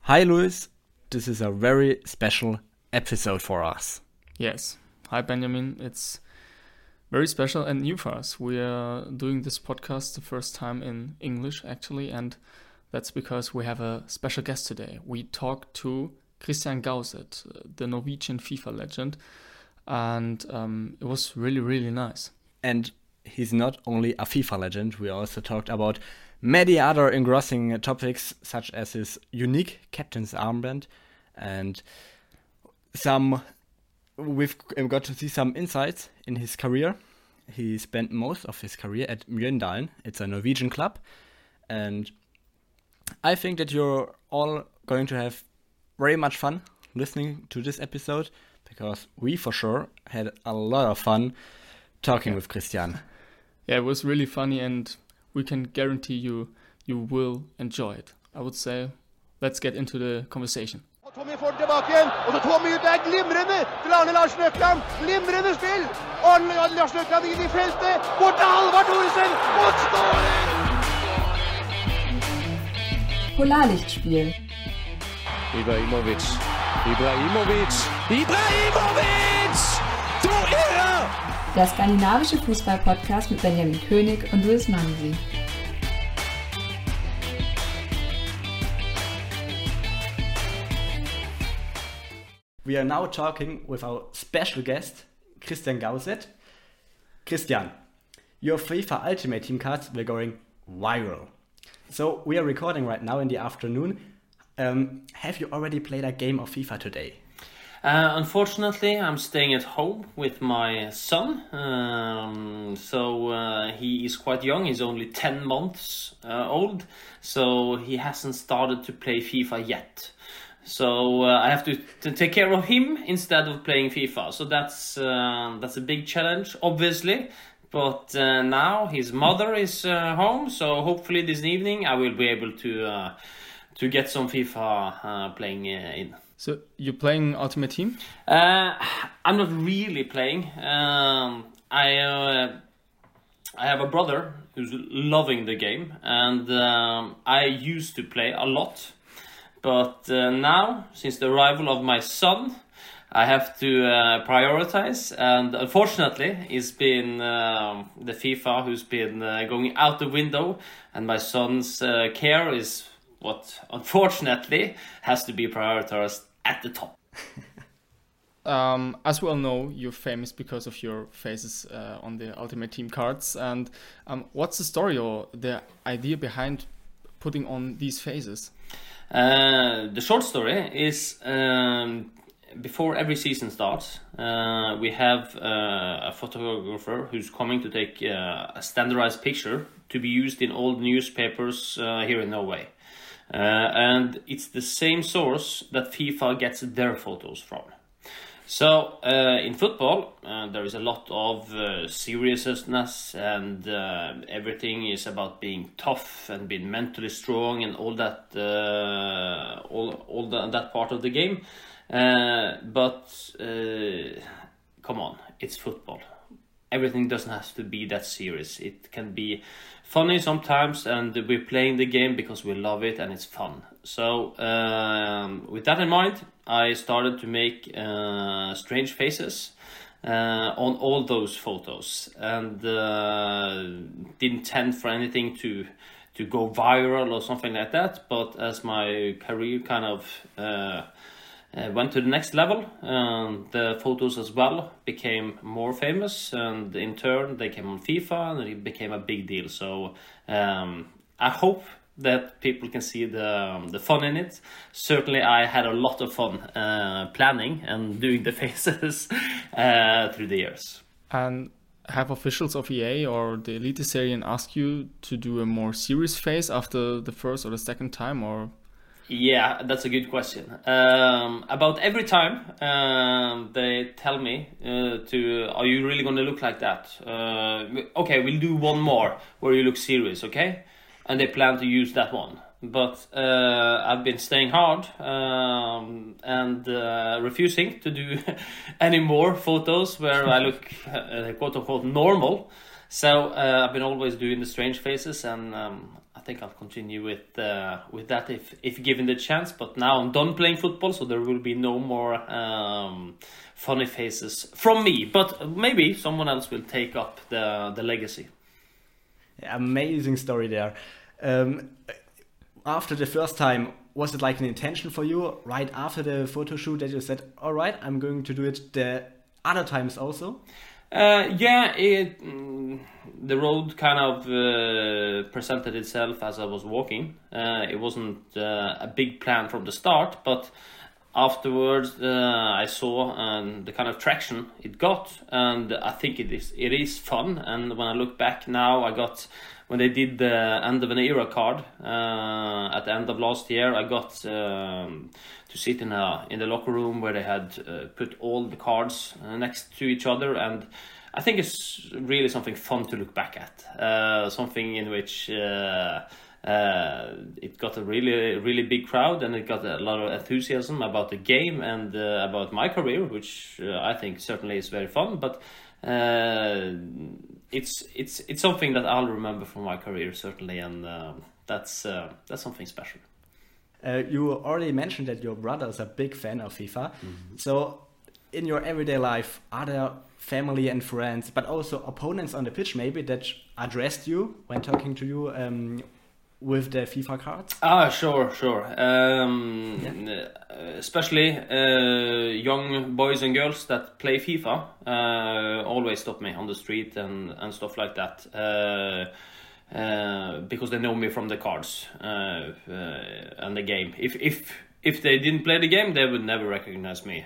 Hi, Luis. This is a very special episode for us. Yes. Hi, Benjamin. It's very special and new for us. We are doing this podcast the first time in English, actually, and that's because we have a special guest today. We talked to Christian Gauseth, the Norwegian FIFA legend, and it was really, really nice. And he's not only a FIFA legend, we also talked about many other engrossing topics, such as his unique captain's armband, and we've got to see some insights in his career. He spent most of his career at Mjøndalen. It's a Norwegian club, and I think that you're all going to have very much fun listening to this episode, because we for sure had a lot of fun talking with Christian. Yeah, it was really funny, and we can guarantee you will enjoy it. I would say, let's get into the conversation. Tommy får tilbake igjen, og så Tommy ut der, glimrende til Arne Larsen Økland. Glimrende spill! Arne Larsen Økland inn i feltet, bort til Halvard Thoresen, mot skåring! Polarlichtspiel. Ibrahimovic! Du Irre! Der skandinavische Fußball-Podcast mit Benjamin König und Luis Mansi. We are now talking with our special guest, Christian Gauseth. Christian, your FIFA Ultimate Team cards were going viral. So we are recording right now in the afternoon. Have you already played a game of FIFA today? Unfortunately, I'm staying at home with my son. He is quite young. He's only 10 months old. So he hasn't started to play FIFA yet. So I have to take care of him instead of playing FIFA. So that's a big challenge, obviously. But now his mother is home. So hopefully this evening I will be able to get some FIFA playing in. So you're playing Ultimate Team? I'm not really playing. I have a brother who's loving the game, and I used to play a lot. But now, since the arrival of my son, I have to prioritize, and unfortunately, it's been the FIFA who's been going out the window, and my son's care is what, unfortunately, has to be prioritized at the top. As we all know, you're famous because of your faces on the Ultimate Team cards. And what's the story or the idea behind putting on these faces? The short story is before every season starts, we have a photographer who's coming to take a standardized picture to be used in all newspapers here in Norway. And it's the same source that FIFA gets their photos from. So in football, there is a lot of seriousness, and everything is about being tough and being mentally strong and all that, that part of the game. But come on, it's football. Everything doesn't have to be that serious. It can be funny sometimes, and we're playing the game because we love it and it's fun. So with that in mind, I started to make strange faces on all those photos, and didn't intend for anything to go viral or something like that. But as my career kind of went to the next level, the photos as well became more famous, and in turn they came on FIFA and it became a big deal. So I hope that people can see the fun in it. Certainly I had a lot of fun planning and doing the faces through the years. And have officials of EA or the Eliteserien asked you to do a more serious face after the first or the second time, or? Yeah, that's a good question. About every time they tell me are you really going to look like that? Okay, we'll do one more where you look serious, okay? And they plan to use that one. But I've been staying hard and refusing to do any more photos where I look quote-unquote normal. So I've been always doing the strange faces, and I think I'll continue with that if given the chance. But now I'm done playing football, so there will be no more funny faces from me. But maybe someone else will take up the legacy. Amazing story there. After the first time, was it like an intention for you right after the photo shoot that you said, all right, I'm going to do it the other times also? The road kind of presented itself as I was walking. It wasn't a big plan from the start, but afterwards I saw the kind of traction it got, and I think it is fun. And when I look back now, when they did the end of an era card at the end of last year, I got to sit in the locker room where they had put all the cards next to each other, and I think it's really something fun to look back at. Something in which it got a really big crowd, and it got a lot of enthusiasm about the game and about my career, which I think certainly is very fun. But it's something that I'll remember from my career certainly, and that's something special. You already mentioned that your brother is a big fan of FIFA. So in your everyday life, are there family and friends, but also opponents on the pitch maybe, that addressed you when talking to you with the FIFA cards? Sure. Especially young boys and girls that play FIFA always stop me on the street and stuff like that, because they know me from the cards and the game. If they didn't play the game, they would never recognize me.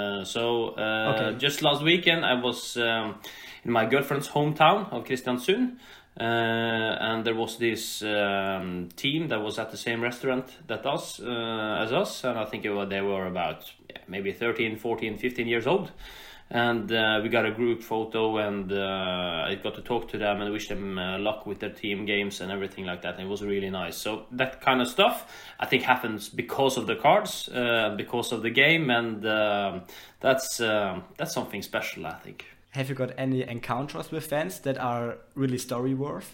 Just last weekend I was in my girlfriend's hometown of Kristiansund. And there was this team that was at the same restaurant as us, and I think they were about maybe 13, 14, 15 years old. And we got a group photo, and I got to talk to them and wish them luck with their team games and everything like that. And it was really nice. So that kind of stuff I think happens because of the cards, because of the game, and that's something special, I think. Have you got any encounters with fans that are really story worth?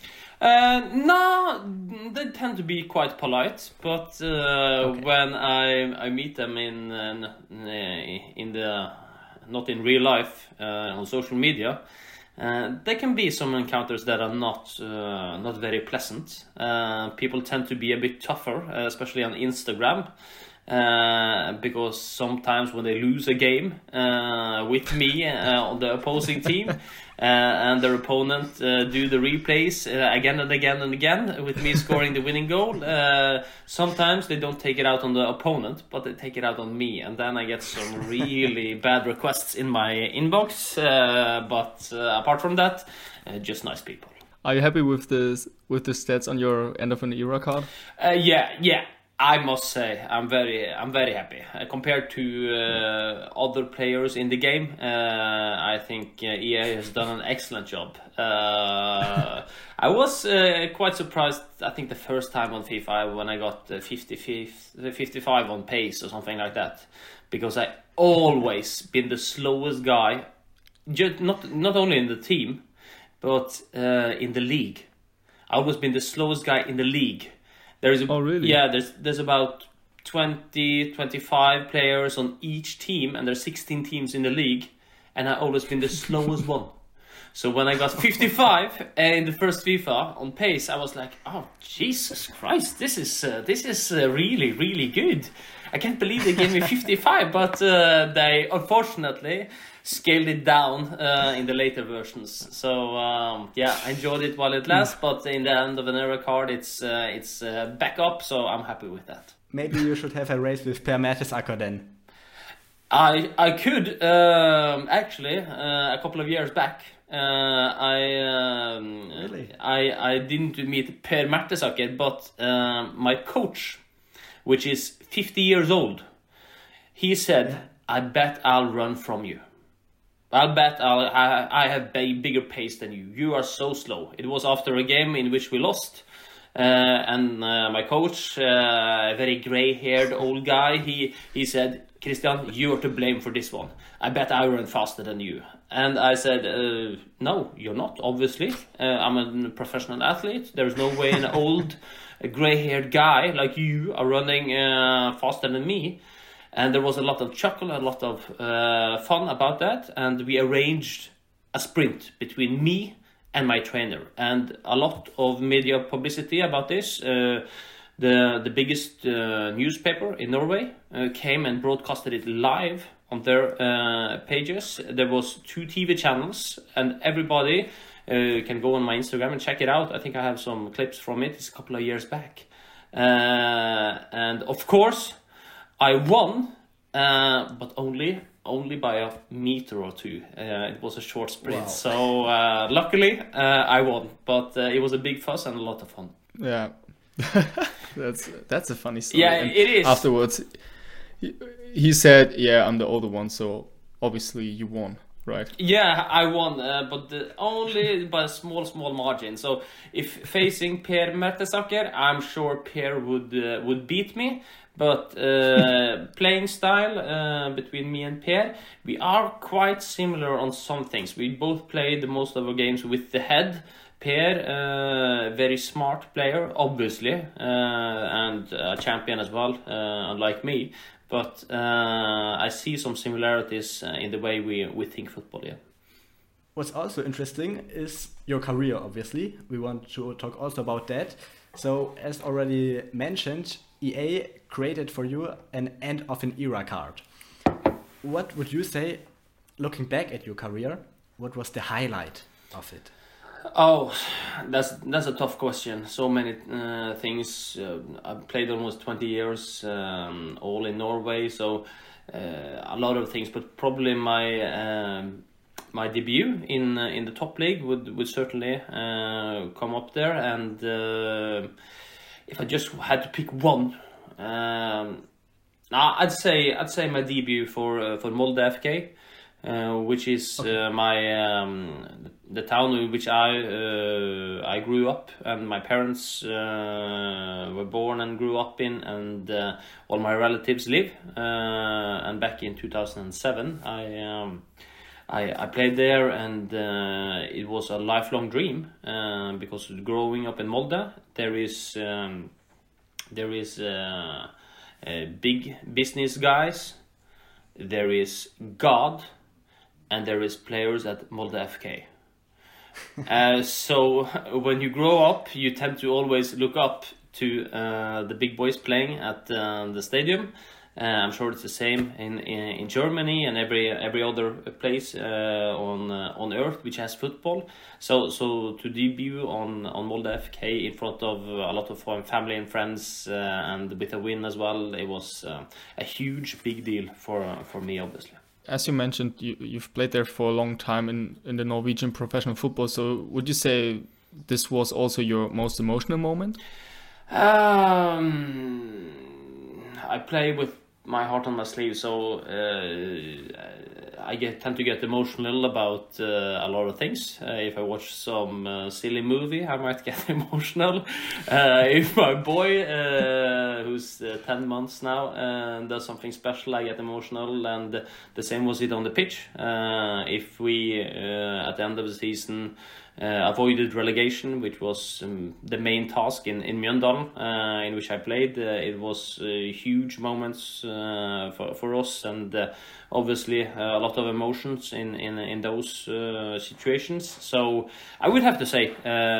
No, they tend to be quite polite, but when I meet them in the not in real life on social media, there can be some encounters that are not very pleasant. People tend to be a bit tougher, especially on Instagram. Because sometimes when they lose a game with me on the opposing team and their opponent do the replays again and again and again with me scoring the winning goal, sometimes they don't take it out on the opponent, but they take it out on me, and then I get some really bad requests in my inbox, but apart from that, just nice people. Are you happy with the stats on your end of an era card? Yeah. I must say I'm very happy compared to other players in the game. I think EA has done an excellent job. I was quite surprised. I think the first time on FIFA when I got 55 on pace or something like that, because I always been the slowest guy, just not only in the team, but in the league. I always been the slowest guy in the league. Really? Yeah, there's about 20, 25 players on each team, and there's 16 teams in the league, and I've always been the slowest one. So when I got 55 in the first FIFA on pace, I was like, oh, Jesus Christ, this is really, really good. I can't believe they gave me 55, but they unfortunately scaled it down in the later versions. So I enjoyed it while it lasts, but in the end of an era card, it's back up, so I'm happy with that. Maybe you should have a race with Per Mertesacker then. I could actually a couple of years back. Really? I didn't meet Per Mertesacker, but my coach, which is 50 years old, he said, I bet I'll run from you. I'll bet I have bigger pace than you. You are so slow. It was after a game in which we lost. And my coach, a very grey-haired old guy, he said, Christian, you are to blame for this one. I bet I run faster than you. And I said, no, you're not, obviously. I'm a professional athlete. There's no way an old a gray-haired guy like you are running faster than me. And there was a lot of chuckle, a lot of fun about that. And we arranged a sprint between me and my trainer. And a lot of media publicity about this. The biggest newspaper in Norway came and broadcasted it live on their pages. There was 2 TV channels, and everybody can go on my Instagram and check it out. I think I have some clips from it. It's a couple of years back. And of course, I won, but only by a meter or 2. It was a short sprint. Wow. So luckily, I won. But it was a big fuss and a lot of fun. Yeah. That's a funny story. Yeah, and it is. Afterwards, he said, "Yeah, I'm the older one, so obviously you won, right?" Yeah, I won, but only by a small margin. So if facing Per Mertesacker, I'm sure Per would beat me. But playing style between me and Per, we are quite similar on some things. We both played most of our games with the head. Per, very smart player, obviously, and a champion as well, unlike me. But I see some similarities in the way we think football, yeah. What's also interesting is your career, obviously. We want to talk also about that. So, as already mentioned, EA created for you an end of an era card. What would you say, looking back at your career, what was the highlight of it? Oh, that's a tough question. So many things. I've played almost 20 years, all in Norway. So a lot of things. But probably my debut in the top league would certainly come up there. And if I just had to pick one, I'd say my debut for Molde FK. Which is the town in which I grew up, and my parents were born and grew up in, and all my relatives live. And back in 2007, I played there, and it was a lifelong dream because growing up in Molde, there is big business guys, there is God, and there is players at Molde FK. So when you grow up, you tend to always look up to the big boys playing at the stadium. I'm sure it's the same in Germany and every other place on earth which has football. So to debut on Molde FK in front of a lot of family and friends and with a win as well, it was a huge big deal for me, obviously. As you mentioned, you've played there for a long time in the Norwegian professional football. So would you say this was also your most emotional moment? I play with my heart on my sleeve, so I tend to get emotional about a lot of things. If I watch some silly movie, I might get emotional. If my boy, who's 10 months now, does something special, I get emotional, and the same was it on the pitch. If we, at the end of the season, avoided relegation, which was the main task in Mjøndalen, in which I played. It was huge moments for us, and obviously a lot of emotions in those situations. So I would have to say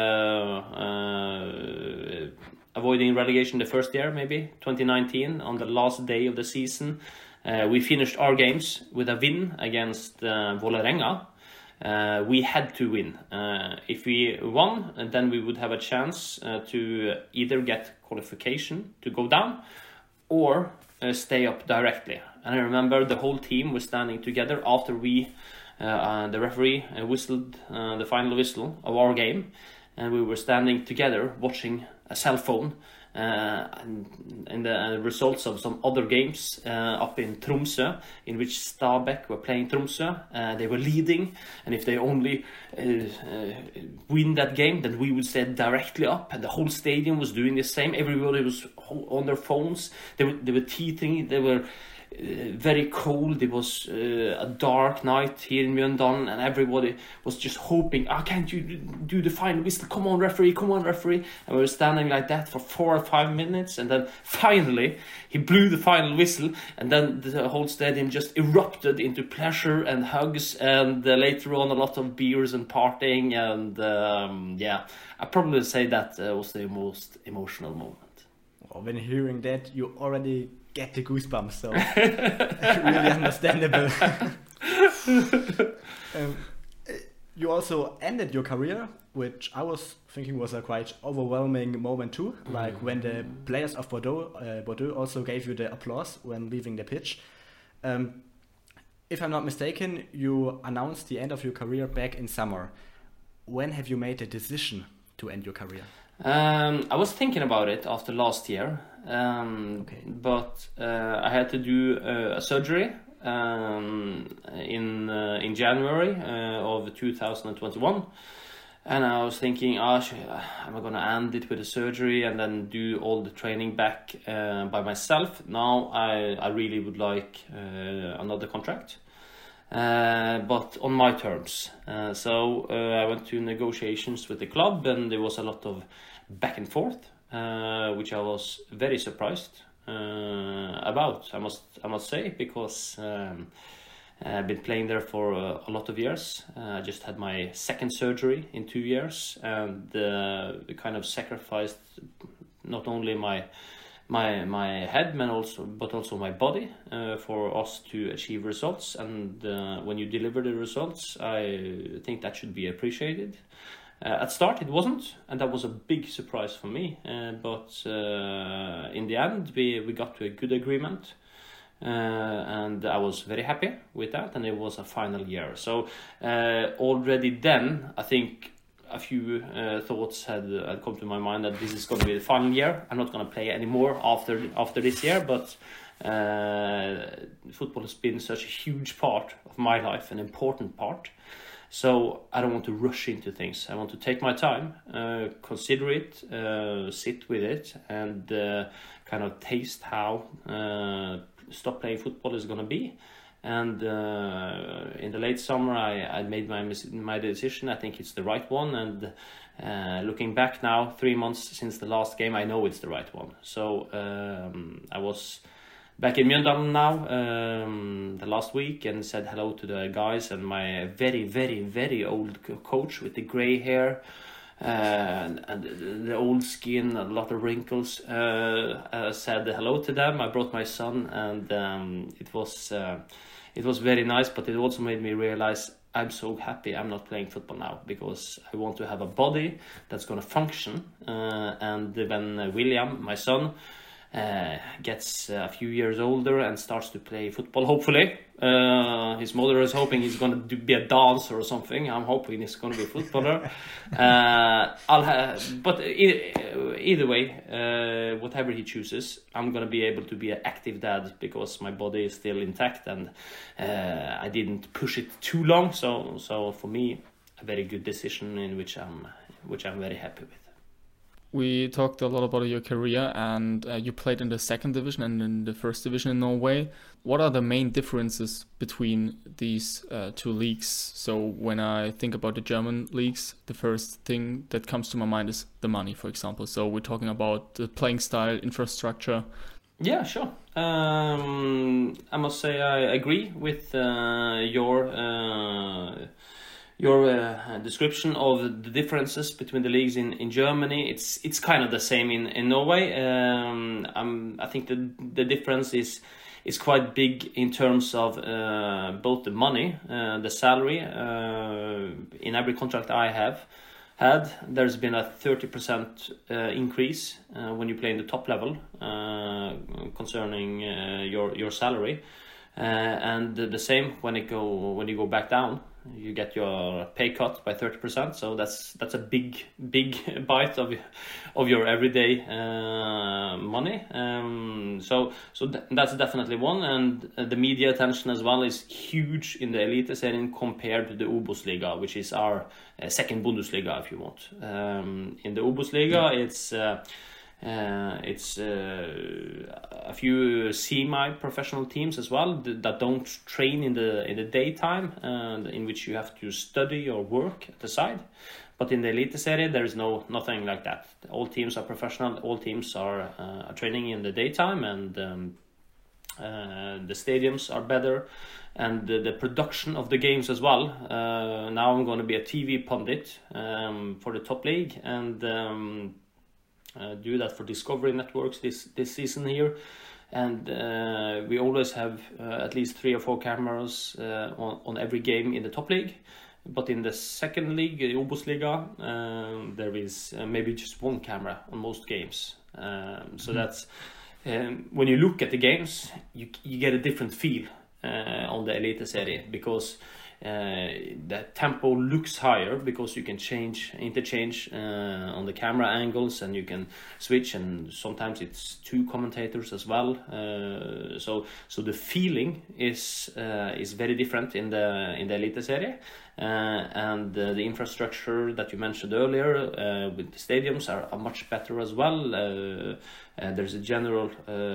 avoiding relegation the first year, maybe 2019, on the last day of the season. We finished our games with a win against Vålerenga. We had to win. If we won, then we would have a chance to either get qualification to go down or stay up directly. And I remember the whole team was standing together after the referee whistled the final whistle of our game, and we were standing together watching a cell phone and the results of some other games up in Tromsø, in which Stabæk were playing Tromsø. They were leading, and if they only win that game, then we would stay directly up, and the whole stadium was doing the same. Everybody was on their phones. They were teething. They were very cold. It was a dark night here in Mjøndalen, and everybody was just hoping, can't you do the final whistle? Come on, referee, come on, referee. And we were standing like that for 4 or 5 minutes, and then finally he blew the final whistle, and then the whole stadium just erupted into pleasure and hugs, and later on a lot of beers and partying, and I probably say that was the most emotional moment. Well, when hearing that, you already get the goosebumps, so really understandable. You also ended your career, which I was thinking was a quite overwhelming moment too, like when the players of Bordeaux also gave you the applause when leaving the pitch. If I'm not mistaken, you announced the end of your career back in summer. When have you made the decision to end your career? I was thinking about it after last year, but I had to do a surgery in January of 2021, and I was thinking, am I going to end it with a surgery and then do all the training back by myself? Now I really would like another contract. But on my terms. So I went to negotiations with the club, and there was a lot of back and forth, which I was very surprised about. I must say, because I've been playing there for a lot of years. I just had my second surgery in 2 years, and kind of sacrificed not only my head, but also my body for us to achieve results. And when you deliver the results, I think that should be appreciated. At start it wasn't, and that was a big surprise for me. But in the end, we got to a good agreement, and I was very happy with that. And it was a final year. So already then, I think a few thoughts had come to my mind that this is going to be the final year. I'm not going to play anymore after this year, but football has been such a huge part of my life, an important part. So I don't want to rush into things. I want to take my time, consider it, sit with it, and kind of taste how stop playing football is going to be. And in the late summer, I made my decision. I think it's the right one. And looking back now, 3 months since the last game, I know it's the right one. So I was back in Mjøndalen now the last week, and said hello to the guys and my very, very, very old coach with the grey hair. And the old skin, a lot of wrinkles. I said hello to them. I brought my son, and it was very nice. But it also made me realize I'm so happy I'm not playing football now, because I want to have a body that's going to function. And when William, my son, gets a few years older and starts to play football, hopefully. His mother is hoping he's going to be a dancer or something. I'm hoping he's going to be a footballer. But either way, whatever he chooses, I'm going to be able to be an active dad, because my body is still intact, and I didn't push it too long. So for me, a very good decision in which I'm very happy with. We talked a lot about your career, and you played in the second division and in the first division in Norway. What are the main differences between these two leagues? So when I think about the German leagues, the first thing that comes to my mind is the money, for example. So we're talking about the playing style, infrastructure. Yeah, sure. I must say I agree with your description of the differences between the leagues in Germany. It's kind of the same in Norway. I think the difference is quite big in terms of both the money, the salary. In every contract I have had, there's been a 30% increase when you play in the top level concerning your salary, and the same when you go back down. You get your pay cut by 30%, so that's a big bite of your everyday money. So that's definitely one, and the media attention as well is huge in the Eliteserien compared to the Obos-liga, which is our second Bundesliga, if you want. In the Obos-liga, it's It's a few semi-professional teams as well that don't train in the daytime, in which you have to study or work at the side. But in the Eliteserie, there is nothing like that. All teams are professional. All teams are training in the daytime, and the stadiums are better, and the production of the games as well. Now I'm going to be a TV pundit for the top league, and do that for Discovery Networks this season here. And we always have at least 3 or 4 cameras on every game in the top league. But in the second league, the Obosliga, there is maybe just 1 camera on most games. So that's when you look at the games, you get a different feel on the Eliteserie, because the tempo looks higher, because you can interchange on the camera angles, and you can switch, and sometimes it's 2 commentators as well. So the feeling is very different in the Eliteserie. And the infrastructure that you mentioned earlier with the stadiums are much better as well. There's a general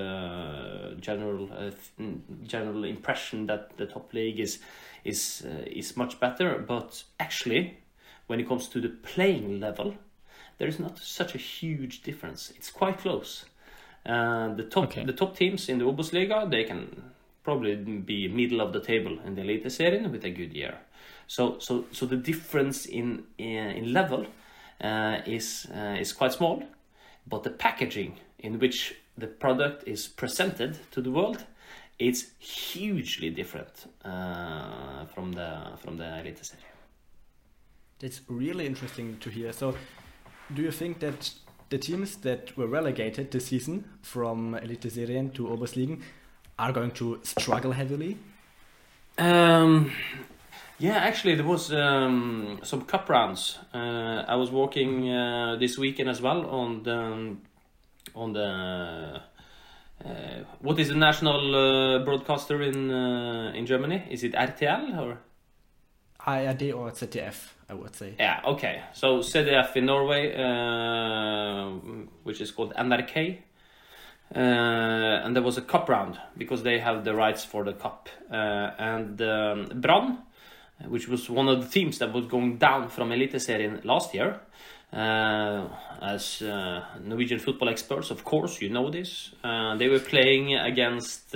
impression that the top league is much better, but actually, when it comes to the playing level, there is not such a huge difference. It's quite close. The top teams in the Obosliga, they can probably be middle of the table in the Eliteserien with a good year. So the difference in level is quite small, but the packaging in which the product is presented to the world, it's hugely different from the Eliteserie. That's really interesting to hear. So, do you think that the teams that were relegated this season from Eliteserien to Oberligen are going to struggle heavily? Yeah, actually, there was some cup rounds. I was working this weekend as well on the what is the national broadcaster in Germany? Is it RTL or ARD or ZDF? I would say. Yeah. Okay. So ZDF in Norway, which is called NRK. And there was a cup round because they have the rights for the cup. And Brann, which was one of the teams that was going down from Eliteserien last year. As Norwegian football experts, of course, you know this. They were playing against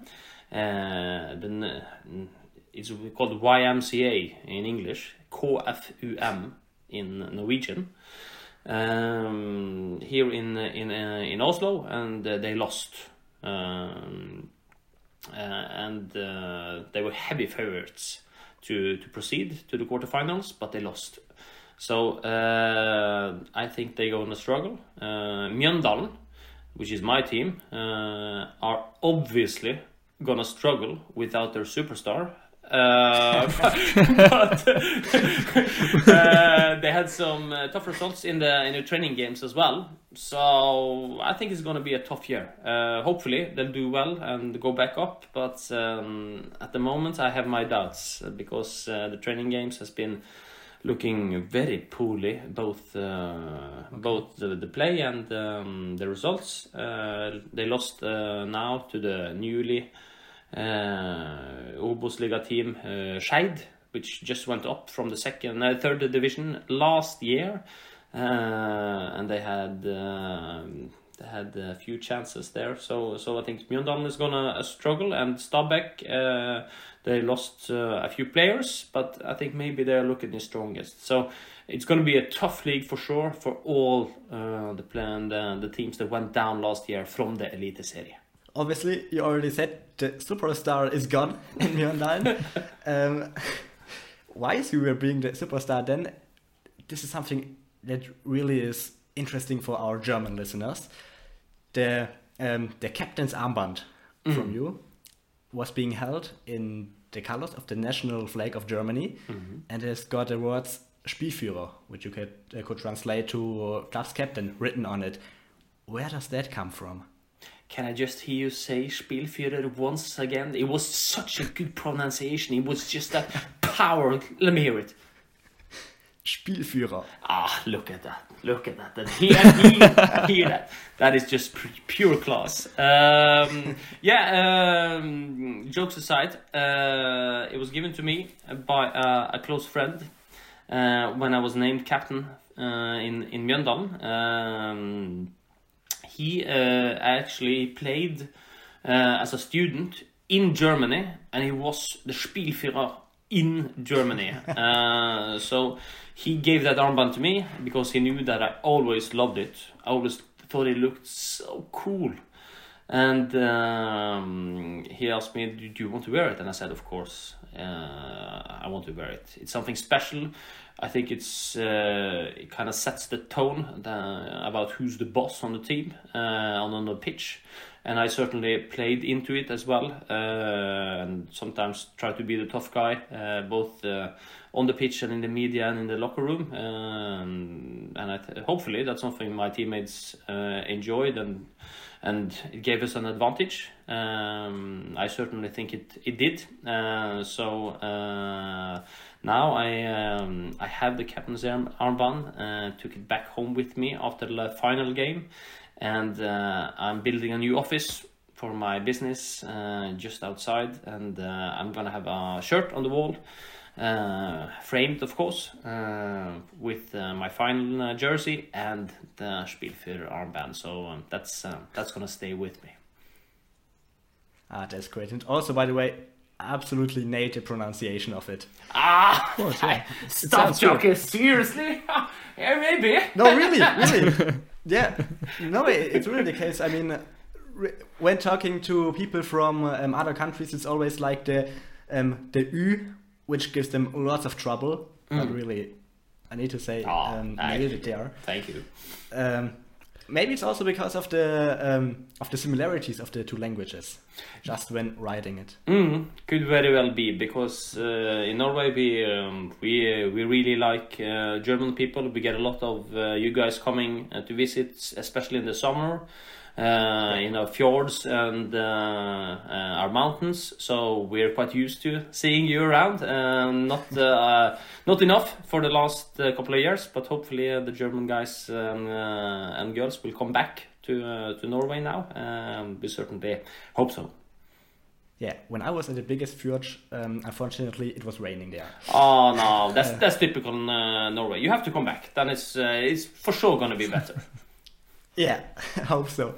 it's called YMCA in English, KFUM in Norwegian. Here in Oslo, and they lost. And they were heavy favorites to proceed to the quarterfinals, but they lost. So I think they're going to struggle. Mjøndalen, which is my team, are obviously going to struggle without their superstar. But they had some tough results in the training games as well. So I think it's going to be a tough year. Hopefully they'll do well and go back up. But at the moment I have my doubts because the training games has been looking very poorly, both the play and the results. They lost now to the newly Obosliga team Skeid, which just went up from the third division last year, and they had a few chances there. So I think Mjøndalen is gonna struggle, and Stabæk they lost a few players, but I think maybe they're looking the strongest. So it's going to be a tough league for sure for all the teams that went down last year from the Eliteserie. Obviously, you already said the superstar is gone in Mjøndalen. Why is you being the superstar then? This is something that really is interesting for our German listeners. The captain's armband from you was being held in the colors of the national flag of Germany, and it's got the words Spielführer, which you could translate to club's captain, written on it. Where does that come from? Can I just hear you say Spielführer once again? It was such a good pronunciation. It was just that power. Let me hear it. Spielführer. Look at that. And hear that. That is just pure class. Jokes aside, it was given to me by a close friend when I was named captain in Mjøndalen. He actually played as a student in Germany, and he was the Spielführer in Germany. So he gave that armband to me because he knew that I always loved it. I always thought it looked so cool. And he asked me, do you want to wear it? And I said, of course, I want to wear it. It's something special. I think it kind of sets the tone about who's the boss on the team, on the pitch. And I certainly played into it as well, and sometimes try to be the tough guy, both on the pitch and in the media and in the locker room. And hopefully that's something my teammates enjoyed, and it gave us an advantage. I certainly think it did. So now I have the captain's armband. Took it back home with me after the final game. And I'm building a new office for my business just outside, and I'm gonna have a shirt on the wall, framed of course, with my final jersey and the Spielführer armband. So that's gonna stay with me. That's great. And also, by the way, absolutely native pronunciation of it. Of course, yeah. Stop joking, seriously? Yeah, maybe. No, really. Yeah, no, it's really the case. I mean, when talking to people from other countries, it's always like the Ü, which gives them lots of trouble. But really, I need to say, nailed it there. Thank you. Maybe it's also because of the similarities of the two languages, just when writing it. Could very well be, because in Norway we really like German people. We get a lot of you guys coming to visit, especially in the summer, in our fjords and our mountains. So we're quite used to seeing you around. Not enough for the last couple of years, but hopefully the German guys and girls will come back to Norway now. We certainly hope so. Yeah, when I was at the biggest fjord, unfortunately, it was raining there. Oh no, that's typical Norway. You have to come back. Then it's for sure gonna be better. Yeah, I hope so.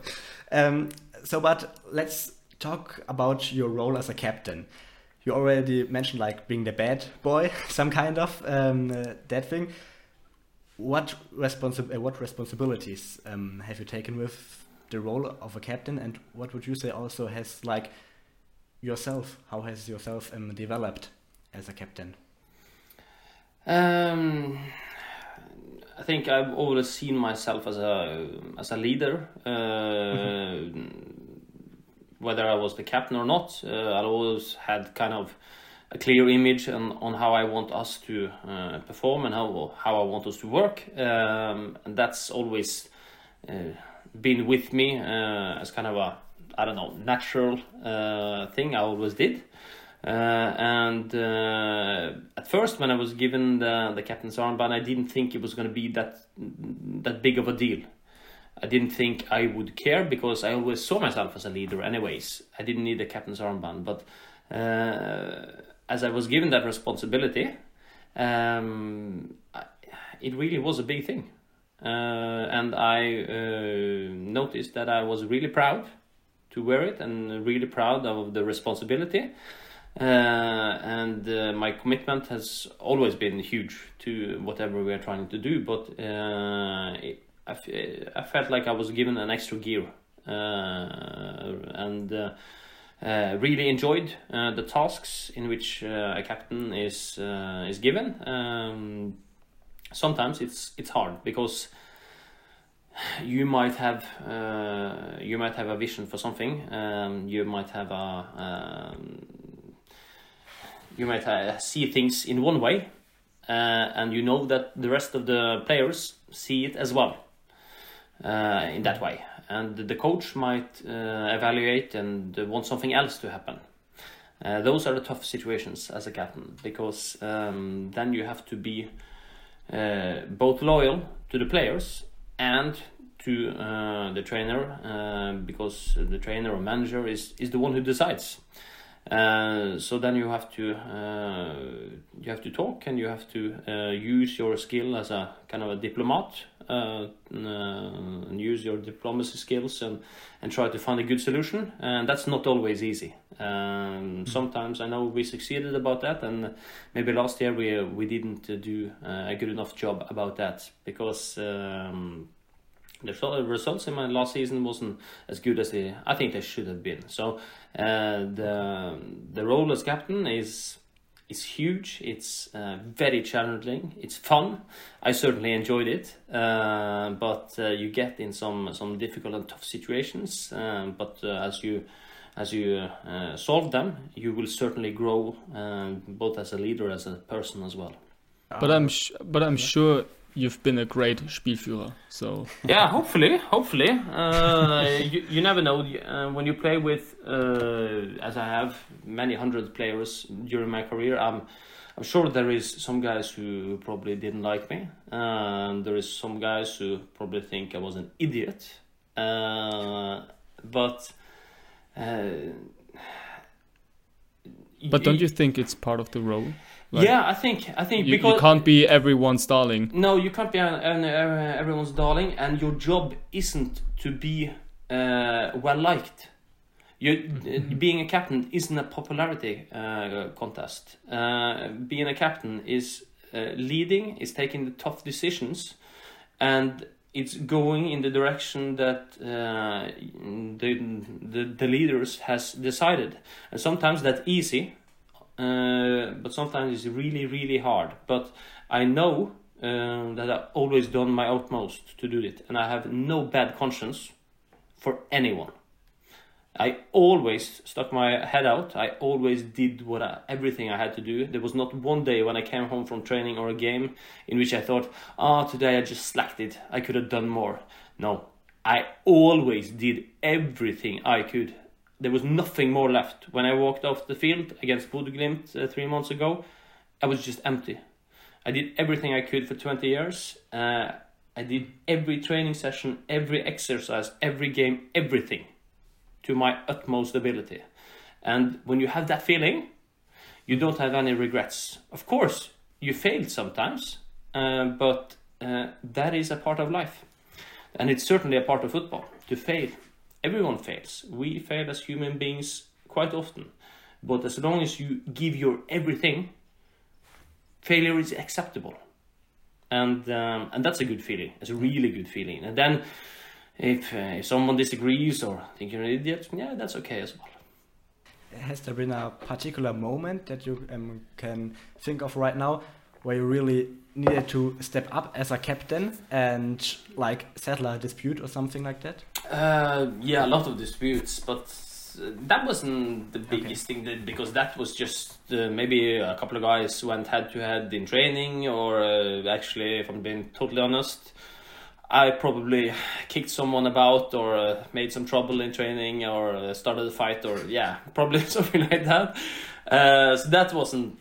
But let's talk about your role as a captain. You already mentioned like being the bad boy, some kind of that thing. What responsibilities have you taken with the role of a captain, and what would you say also has like yourself? How has yourself developed as a captain? I think I've always seen myself as a leader. Whether I was the captain or not, I always had kind of a clear image on how I want us to perform and how I want us to work. And that's always been with me as kind of a, I don't know, natural thing I always did. And at first, when I was given the captain's armband, I didn't think it was going to be that big of a deal. I didn't think I would care, because I always saw myself as a leader anyways. I didn't need a captain's armband, but as I was given that responsibility, it really was a big thing. And I noticed that I was really proud to wear it, and really proud of the responsibility. And my commitment has always been huge to whatever we are trying to do, but I felt like I was given an extra gear, and really enjoyed the tasks in which a captain is given. Sometimes it's hard, because you might have a vision for something. You might have see things in one way, and you know that the rest of the players see it as well in that way. And the coach might evaluate and want something else to happen. Those are the tough situations as a captain, because then you have to be both loyal to the players and to the trainer, because the trainer or manager is the one who decides. So then you have to talk, and you have to use your skill as a kind of a diplomat, and use your diplomacy skills and try to find a good solution. And that's not always easy. Sometimes I know we succeeded about that, and maybe last year we didn't do a good enough job about that, because the results in my last season wasn't as good as I think they should have been. So the role as captain is huge. It's very challenging. It's fun. I certainly enjoyed it, but you get in some difficult and tough situations. But as you solve them, you will certainly grow, both as a leader, as a person as well. But I'm sure you've been a great Spielführer, so yeah, hopefully. You never know when you play with, as I have, many hundred players during my career. I'm sure there is some guys who probably didn't like me, and there is some guys who probably think I was an idiot. But don't you think it's part of the role? Like, yeah, I think because you can't be everyone's darling. No, you can't be everyone's darling, and your job isn't to be well liked. Being a captain isn't a popularity contest. Being a captain is leading, is taking the tough decisions, and it's going in the direction that the leaders has decided. And sometimes that's easy. But sometimes it's really, really hard. But I know that I've always done my utmost to do it, and I have no bad conscience for anyone. I always stuck my head out. I always did everything I had to do. There was not one day when I came home from training or a game in which I thought, today I just slacked it. I could have done more. No, I always did everything I could. There was nothing more left. When I walked off the field against Bodø/Glimt 3 months ago, I was just empty. I did everything I could for 20 years. I did every training session, every exercise, every game, everything to my utmost ability. And when you have that feeling, you don't have any regrets. Of course, you failed sometimes, but that is a part of life. And it's certainly a part of football, to fail. Everyone fails. We fail as human beings quite often. But as long as you give your everything, failure is acceptable. And that's a good feeling. It's a really good feeling. And then if someone disagrees or think you're an idiot, yeah, that's okay as well. Has there been a particular moment that you can think of right now where you really needed to step up as a captain and like settle a dispute or something like that? Yeah, a lot of disputes, but that wasn't the biggest thing, because that was just maybe a couple of guys went head to head in training, or actually, if I'm being totally honest, I probably kicked someone about or made some trouble in training or started a fight, or probably something like that. So that wasn't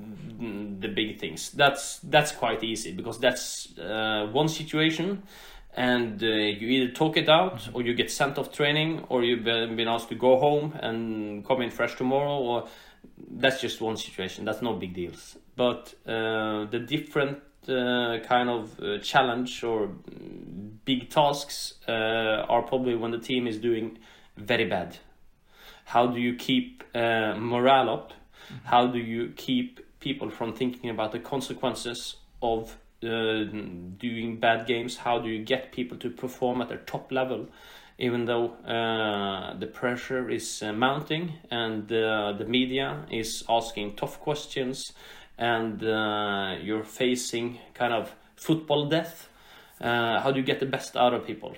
the big things. That's quite easy, because that's one situation, and you either talk it out, or you get sent off training, or you've been asked to go home and come in fresh tomorrow, or that's just one situation. That's no big deals. But the different kind of challenge or big tasks are probably when the team is doing very bad. How do you keep morale up? How do you keep people from thinking about the consequences of doing bad games? How do you get people to perform at their top level, even though the pressure is mounting and the media is asking tough questions, and you're facing kind of football death? How do you get the best out of people?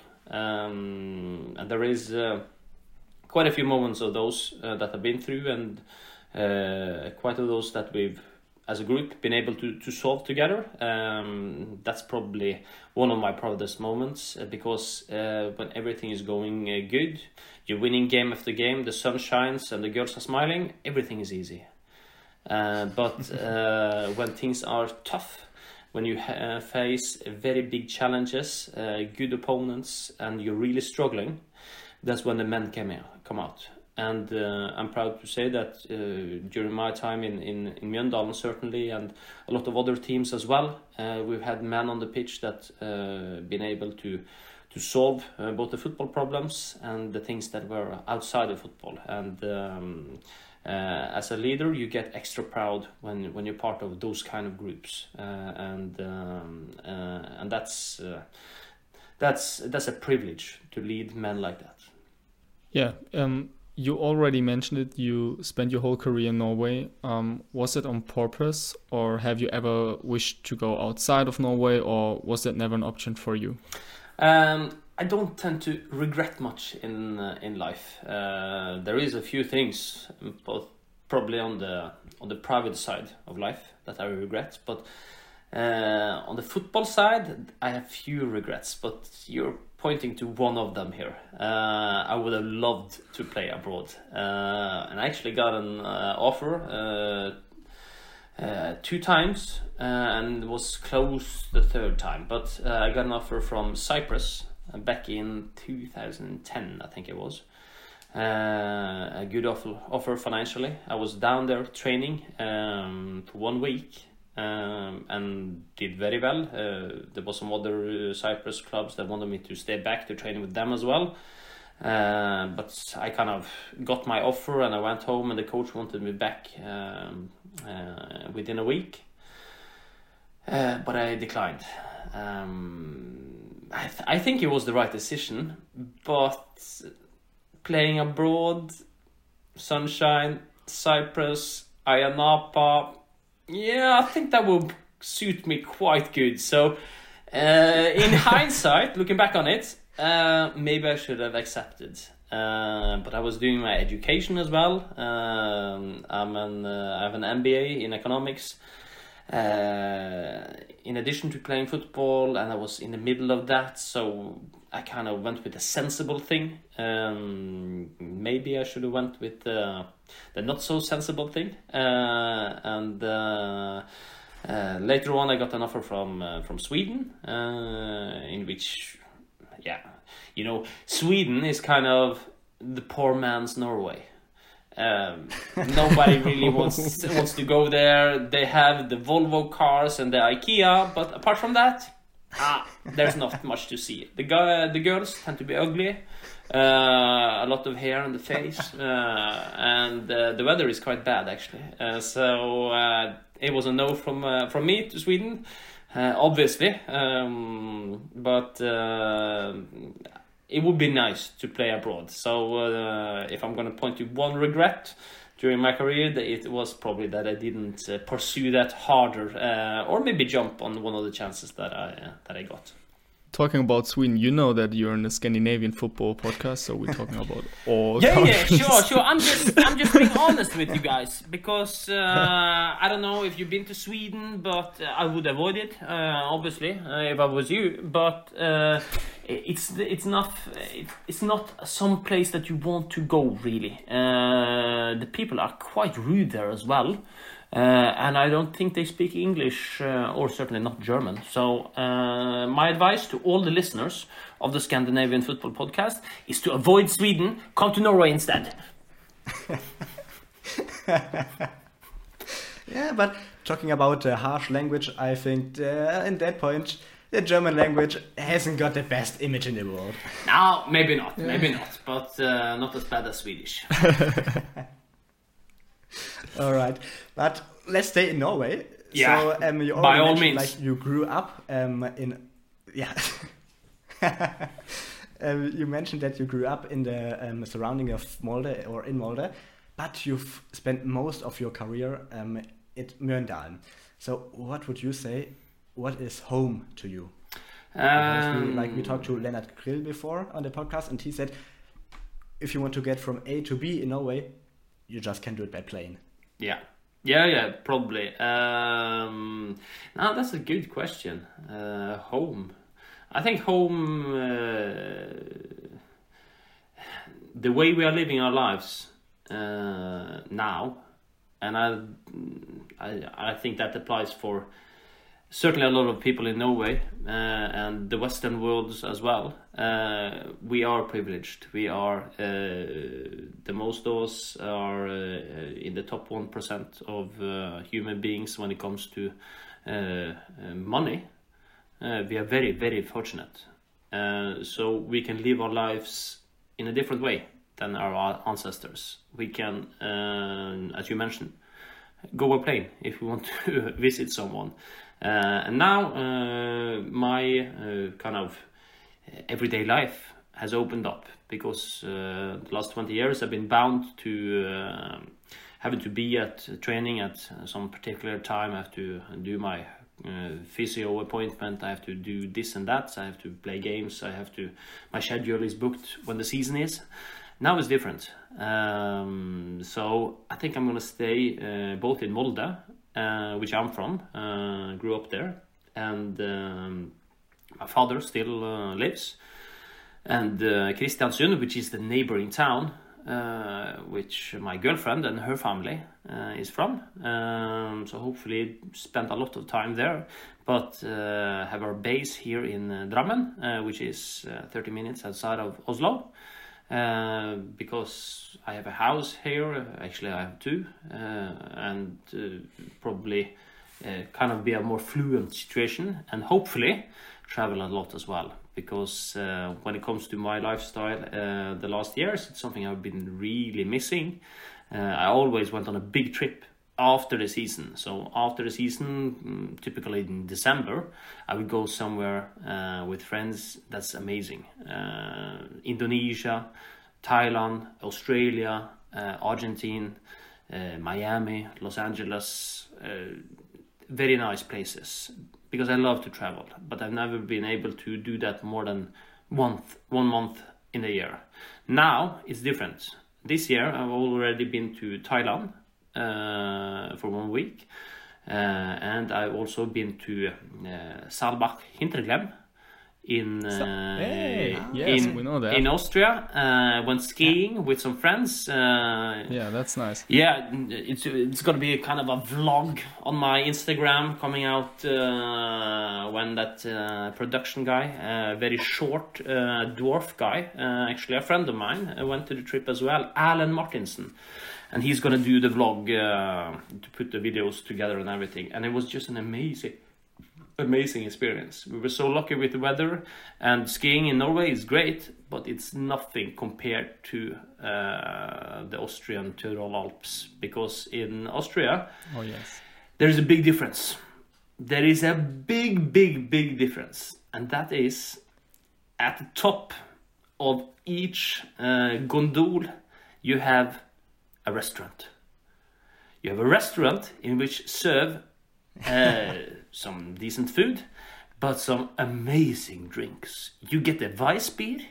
And there is quite a few moments of those that I've been through, and quite of those that we've, as a group, been able to solve together. That's probably one of my proudest moments, because when everything is going good, you're winning game after game, the sun shines and the girls are smiling, everything is easy. But when things are tough when you face very big challenges, good opponents, and you're really struggling, that's when the men come out. And I'm proud to say that during my time in Mjøndalen, certainly, and a lot of other teams as well, we've had men on the pitch that been able to solve both the football problems and the things that were outside of football. And as a leader, you get extra proud when you're part of those kind of groups, and that's a privilege to lead men like that. Yeah. You already mentioned it. You spent your whole career in Norway. Was it on purpose, or have you ever wished to go outside of Norway, or was that never an option for you? I don't tend to regret much in life. There is a few things, both probably on the private side of life, that I regret, but on the football side, I have few regrets. But you're pointing to one of them here. I would have loved to play abroad, and I actually got an offer 2 times, and was close the 3rd time. But I got an offer from Cyprus back in 2010, I think it was. A good offer financially. I was down there training for 1 week. And did very well. There was some other Cyprus clubs that wanted me to stay back to train with them as well. But I kind of got my offer and I went home, and the coach wanted me back within a week. But I declined. I think it was the right decision, but playing abroad, sunshine, Cyprus, Ayia Napa, yeah, I think that would suit me quite good. So, in hindsight, looking back on it, maybe I should have accepted. But I was doing my education as well. I have an MBA in economics. In addition to playing football, and I was in the middle of that, so I kind of went with a sensible thing. Maybe I should have went with the not so sensible thing. And later on, I got an offer from Sweden, in which, yeah, you know, Sweden is kind of the poor man's Norway. Nobody really wants to go there. They have the Volvo cars and the IKEA, but apart from that, there's not much to see. The girls tend to be ugly, a lot of hair on the face, and the weather is quite bad actually. So it was a no from me to Sweden, obviously, but it would be nice to play abroad. So if I'm going to point to one regret during my career, it was probably that I didn't pursue that harder, or maybe jump on one of the chances that I got. Talking about Sweden, you know that you're in a Scandinavian football podcast, so we're talking about all yeah, countries. Sure. I'm just being honest with you guys, because I don't know if you've been to Sweden, but I would avoid it, obviously, if I was you. But it's not some place that you want to go, really. The people are quite rude there as well. And I don't think they speak English, or certainly not German. So my advice to all the listeners of the Scandinavian Football Podcast is to avoid Sweden, come to Norway instead. Yeah, but talking about harsh language, I think in that point, the German language hasn't got the best image in the world. No, maybe not, but not as bad as Swedish. All right, but let's stay in Norway. Yeah, so, you by all mentioned, means. like, you grew up in, yeah. You mentioned that you grew up in the surrounding of Molde, or in Molde, but you've spent most of your career at Mjøndalen. So what would you say? What is home to you? We talked to Lennart Grill before on the podcast, and he said, if you want to get from A to B in Norway, you just can't do it by plane. Yeah, probably. Now that's a good question. Home. I think home, the way we are living our lives now, and I think that applies for certainly a lot of people in Norway and the Western world as well, we are privileged. We are, the most of us are in the top 1% of human beings when it comes to money. We are very, very fortunate. So we can live our lives in a different way than our ancestors. We can, as you mentioned, go a plane if we want to visit someone. And now my kind of everyday life has opened up because the last 20 years I've been bound to having to be at training at some particular time. I have to do my physio appointment, I have to do this and that, I have to play games, my schedule is booked when the season is. Now it's different. So I think I'm gonna stay both in Molde, which I'm from, grew up there, and my father still lives, and Kristiansund, which is the neighboring town, which my girlfriend and her family is from. So hopefully spend a lot of time there, but have our base here in Drammen, which is 30 minutes outside of Oslo. Because I have a house here, actually I have two, and probably kind of be a more fluent situation, and hopefully travel a lot as well, because when it comes to my lifestyle the last years, it's something I've been really missing. I always went on a big trip after the season. So after the season, typically in December, I would go somewhere with friends. That's amazing. Indonesia, Thailand, Australia, Argentina, Miami, Los Angeles, very nice places, because I love to travel, but I've never been able to do that more than 1 month in a year. Now it's different. This year I've already been to Thailand for 1 week, and I've also been to Saalbach Hinterglemm in we know that. in Austria. Went skiing with some friends. Yeah, that's nice. Yeah, it's gonna be a kind of a vlog on my Instagram coming out when that production guy, very short dwarf guy, actually a friend of mine, went to the trip as well, Alan Martinson. And he's gonna do the vlog to put the videos together and everything. And it was just an amazing experience. We were so lucky with the weather, and skiing in Norway is great, but it's nothing compared to the Austrian Tyrol Alps, because in Austria, there is a big difference. There is a big difference, and that is at the top of each gondol you have a restaurant. You have a restaurant in which serve some decent food, but some amazing drinks. You get a Weissbier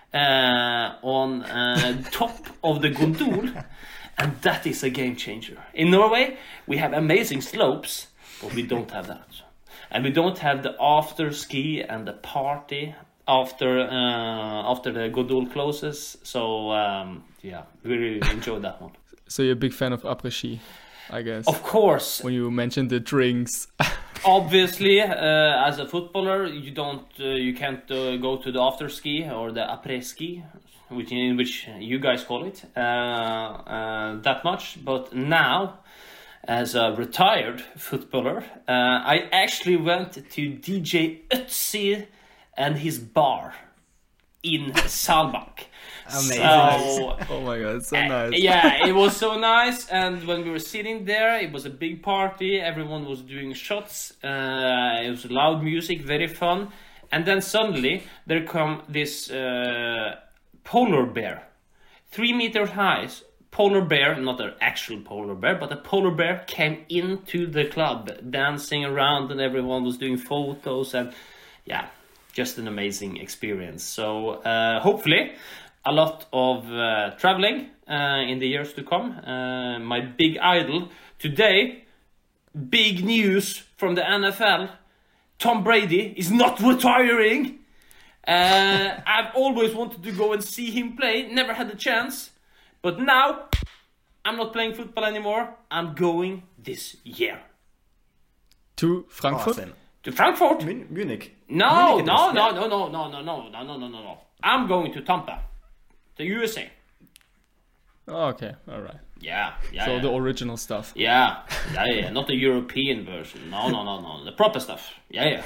on top of the gondol, and that is a game changer. In Norway, we have amazing slopes, but we don't have that. And we don't have the after ski and the party after the gondol closes. So yeah, we really enjoyed that one. So you're a big fan of après-ski, I guess. Of course. When you mentioned the drinks. Obviously, as a footballer, you can't go to the after ski or the après ski, which you guys call it, that much. But now, as a retired footballer, I actually went to DJ Ötzi and his bar in Saalbach. Amazing. So, oh my god, it's so nice. Yeah, it was so nice. And when we were sitting there, it was a big party. Everyone was doing shots. It was loud music, very fun. And then suddenly there come this polar bear, 3 meters high. Polar bear, not an actual polar bear, but a polar bear came into the club, dancing around, and everyone was doing photos, and yeah, just an amazing experience. So hopefully a lot of traveling in the years to come. My big idol today, big news from the NFL, Tom Brady is not retiring. I've always wanted to go and see him play, never had the chance, but now I'm not playing football anymore. I'm going this year. To Frankfurt? Awesome. To Frankfurt? Munich. No. Munich it is, yeah. No. I'm going to Tampa, the USA. Oh, okay, all right. Yeah. So the original stuff. Yeah, not the European version. No, the proper stuff. Yeah.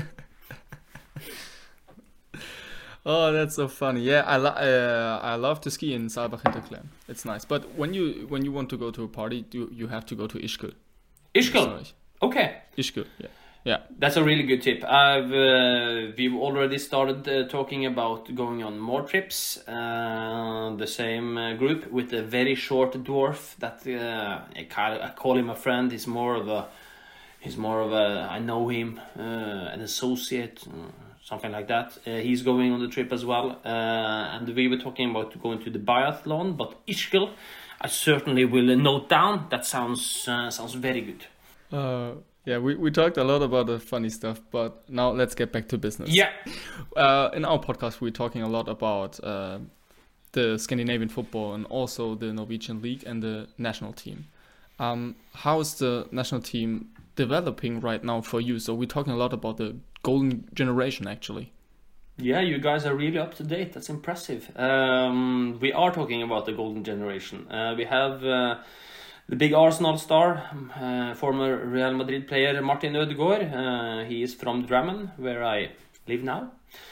Oh, that's so funny. Yeah, I love to ski in Saalbach Hinterklemm. It's nice. But when you want to go to a party, you have to go to Ischgl. Ischgl. Okay. Ischgl. Yeah. That's a really good tip. We've already started talking about going on more trips. The same group with a very short dwarf that I call him a friend. He's more of a I know him, an associate. Something like that. He's going on the trip as well. And we were talking about going to the biathlon, but Ischgl, I certainly will note down. That sounds very good. Yeah, we talked a lot about the funny stuff, but now let's get back to business. Yeah. In our podcast, we're talking a lot about the Scandinavian football and also the Norwegian league and the national team. How is the national team developing right now for you? So we're talking a lot about the golden generation, actually. Yeah, you guys are really up to date. That's impressive. We are talking about the golden generation. We have the big Arsenal star, former Real Madrid player Martin Ødegaard. He is from Drammen, where I live now,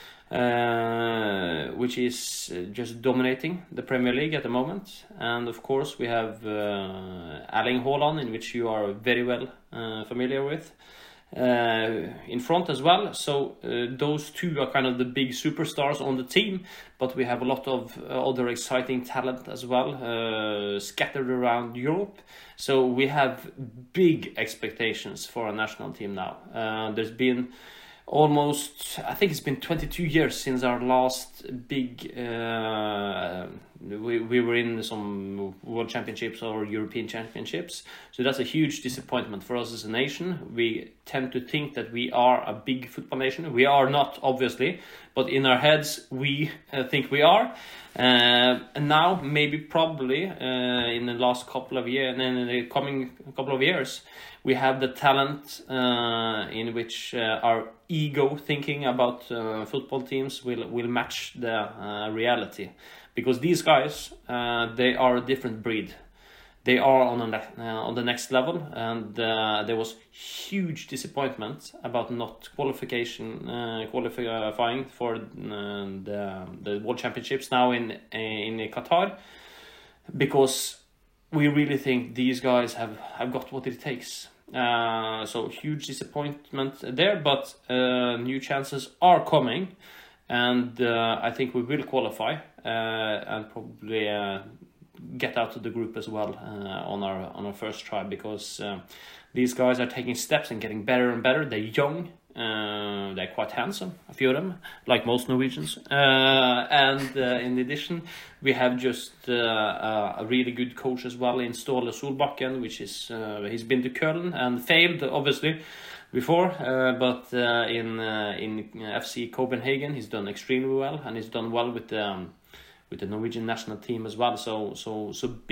which is just dominating the Premier League at the moment. And of course we have Erling Haaland, in which you are very well familiar with, in front as well. So those two are kind of the big superstars on the team, but we have a lot of other exciting talent as well, scattered around Europe. So we have big expectations for our national team now. There's been almost, I think it's been 22 years since our last big we were in some world championships or European championships, so that's a huge disappointment for us as a nation. We tend to think that we are a big football nation. We are not, obviously, but in our heads we think we are. And now, maybe probably in the last couple of years and in the coming couple of years, we have the talent in which our ego thinking about football teams will match the reality. Because these guys, they are a different breed. They are on the next level, and there was huge disappointment about not qualifying for the World Championships now in Qatar, because we really think these guys have got what it takes. So huge disappointment there, but new chances are coming, and I think we will qualify and probably get out of the group as well on our first try, because these guys are taking steps and getting better and better. They're young, they're quite handsome, a few of them, like most Norwegians, and in addition we have just a really good coach as well in Ståle Solbakken, which is he's been to Köln and failed obviously before, but in FC Copenhagen he's done extremely well, and he's done well with the Norwegian national team as well. So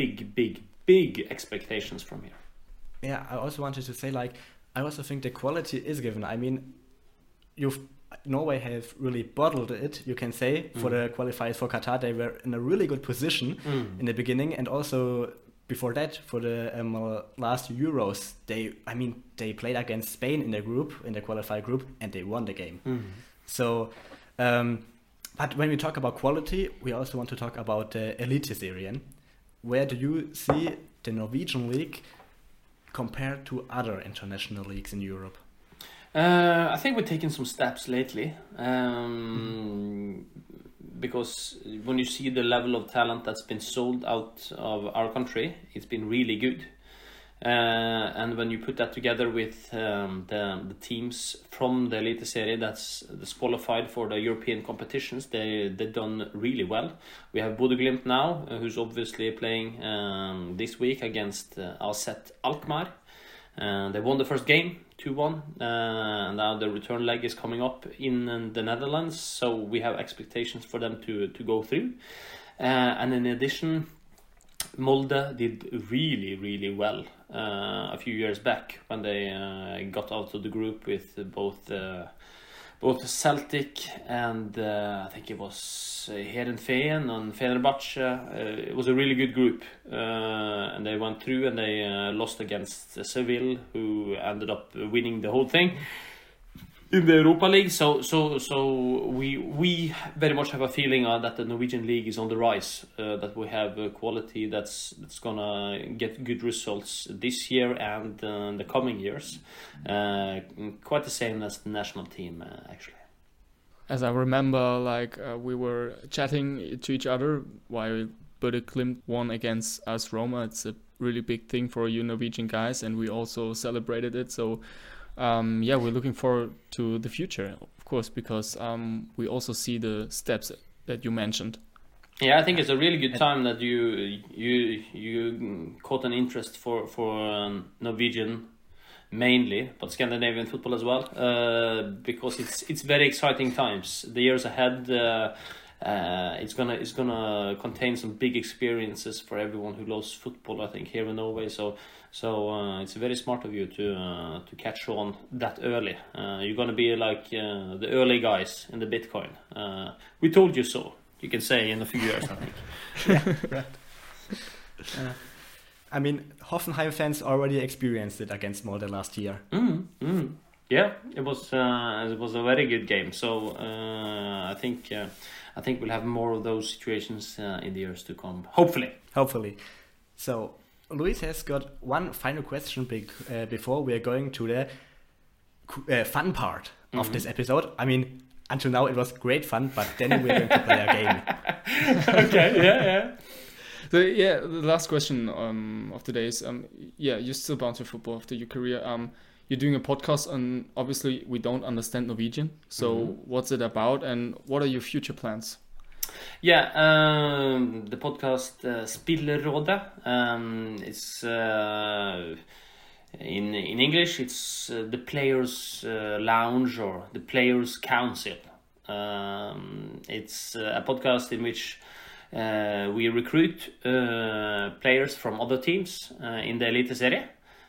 big expectations from here. Yeah, I also wanted to say, like, I also think the quality is given. I mean, Norway have really bottled it, you can say, for the qualifiers for Qatar. They were in a really good position in the beginning, and also before that, for the last Euros, they played against Spain in the qualifier group, and they won the game. So, but when we talk about quality, we also want to talk about the Eliteserien. Where do you see the Norwegian league compared to other international leagues in Europe? I think we're taking some steps lately, because when you see the level of talent that's been sold out of our country, it's been really good. And when you put that together with the teams from the Eliteserie that's qualified for the European competitions, they've done really well. We have Bodø/Glimt now, who's obviously playing this week against AZ Alkmaar. They won the first game, 2-1. Now the return leg is coming up in the Netherlands, so we have expectations for them to go through. And in addition, Molde did really, really well a few years back when they got out of the group with both Celtic and I think it was Heerenveen and Fenerbahce. It was a really good group, and they went through and they lost against Seville, who ended up winning the whole thing in the Europa League. So we very much have a feeling that the Norwegian league is on the rise, that we have a quality that's gonna get good results this year and the coming years. Quite the same as the national team, actually. As I remember, we were chatting to each other while Bøtte Glimt won against AS Roma. It's a really big thing for you Norwegian guys, and we also celebrated it. So we're looking forward to the future, of course, because we also see the steps that you mentioned. Yeah, I think it's a really good time that you caught an interest for Norwegian mainly, but Scandinavian football as well, because it's very exciting times. The years ahead, it's gonna contain some big experiences for everyone who loves football, I think, here in Norway. So it's very smart of you to catch on that early. You're gonna be like the early guys in the Bitcoin. We told you so. You can say in a few years, I think. Yeah, right. I mean, Hoffenheim fans already experienced it against Molde last year. Yeah, it was a very good game. So I think we'll have more of those situations in the years to come. Hopefully. So Luis has got one final question before we are going to the fun part of this episode. I mean, until now it was great fun, but then we're going to play a game. Okay, yeah. So the last question of today is, you're still bound to football after your career. You're doing a podcast, and obviously we don't understand Norwegian. So what's it about, and what are your future plans? Yeah, the podcast Spillerrådet. It's in English. It's the Players Lounge or the Players Council. It's a podcast in which we recruit players from other teams in the Eliteserie,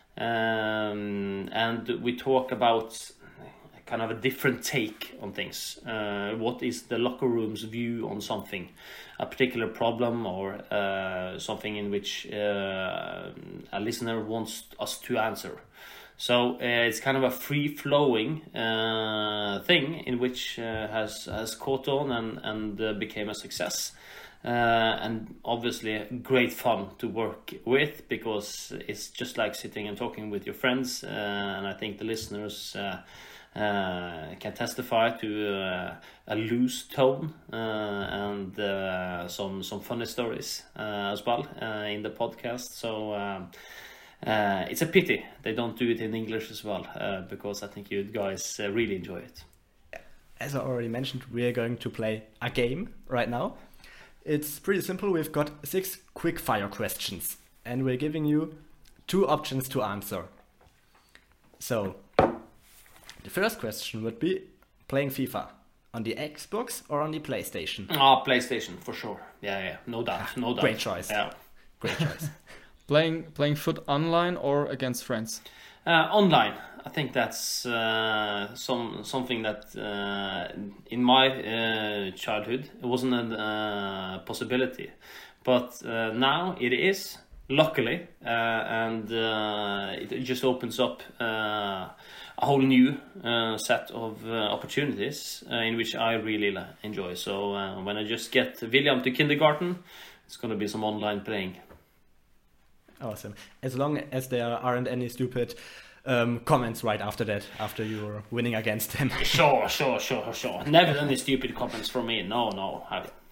and we talk about kind of a different take on things. What is the locker room's view on something, a particular problem, or something in which a listener wants us to answer. So it's kind of a free-flowing thing in which has caught on and became a success. And obviously great fun to work with, because it's just like sitting and talking with your friends, and I think the listeners can testify to a loose tone and some funny stories as well in the podcast. So it's a pity they don't do it in English as well, because I think you guys really enjoy it. As I already mentioned, we are going to play a game right now. It's pretty simple. We've got 6 quick fire questions, and we're giving you 2 options to answer. So the first question would be playing FIFA on the Xbox or on the PlayStation? PlayStation for sure. Yeah, no doubt. Great choice. Yeah. Great choice. Playing foot online or against friends? Online. I think that's something that in my childhood it wasn't a possibility, but now it is, luckily, and it just opens up a whole new set of opportunities in which I really enjoy. So when I just get William to kindergarten, it's going to be some online playing. Awesome. As long as there aren't any stupid comments right after that, after you're winning against them. Sure. Never any stupid comments from me. No.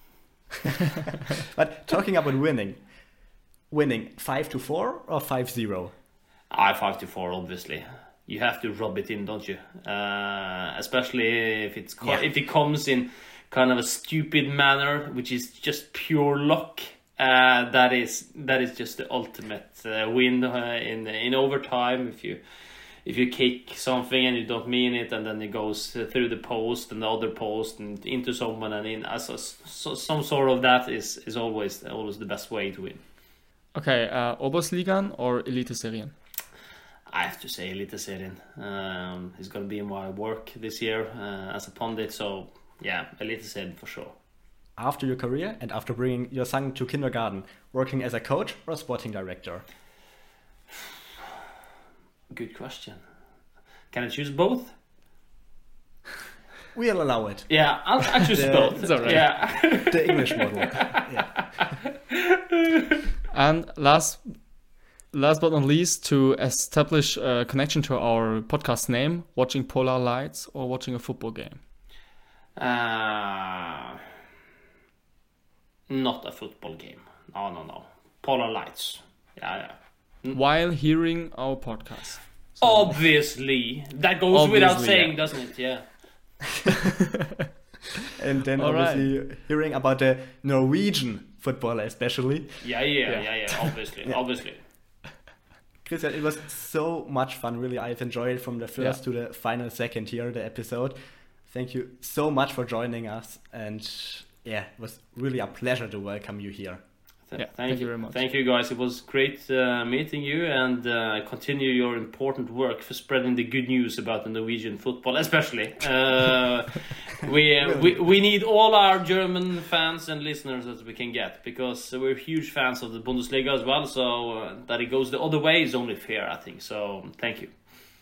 But talking about winning 5-4 or 5-0? 5-4, obviously. You have to rub it in, don't you? Especially if if it comes in kind of a stupid manner, which is just pure luck. That is just the ultimate win in overtime. If you kick something and you don't mean it, and then it goes through the post and the other post and into someone and in, some sort of that is always the best way to win. Okay, Oberliga or Eliteserien? I have to say Eliteserien. It's going to be my work this year as a pundit, so yeah, Eliteserien for sure. After your career and after bringing your son to kindergarten, working as a coach or a sporting director? Good question. Can I choose both? We'll allow it. Yeah, I'll choose both. It's all right. Yeah. The English model. Yeah. And last but not least, to establish a connection to our podcast name, watching Polar Lights or watching a football game? Not a football game. No. Polar Lights. Yeah. While hearing our podcast. Obviously. That goes without saying, yeah. doesn't it? Yeah. And then All obviously hearing about the Norwegian football especially. Yeah. Obviously. Christian, it was so much fun, really. I've enjoyed it from the first to the final second here, the episode. Thank you so much for joining us. And yeah, it was really a pleasure to welcome you here. Thank you very much. Thank you, guys. It was great meeting you, and continue your important work for spreading the good news about the Norwegian football, especially. We need all our German fans and listeners that we can get, because we're huge fans of the Bundesliga as well. So that it goes the other way is only fair, I think. So thank you.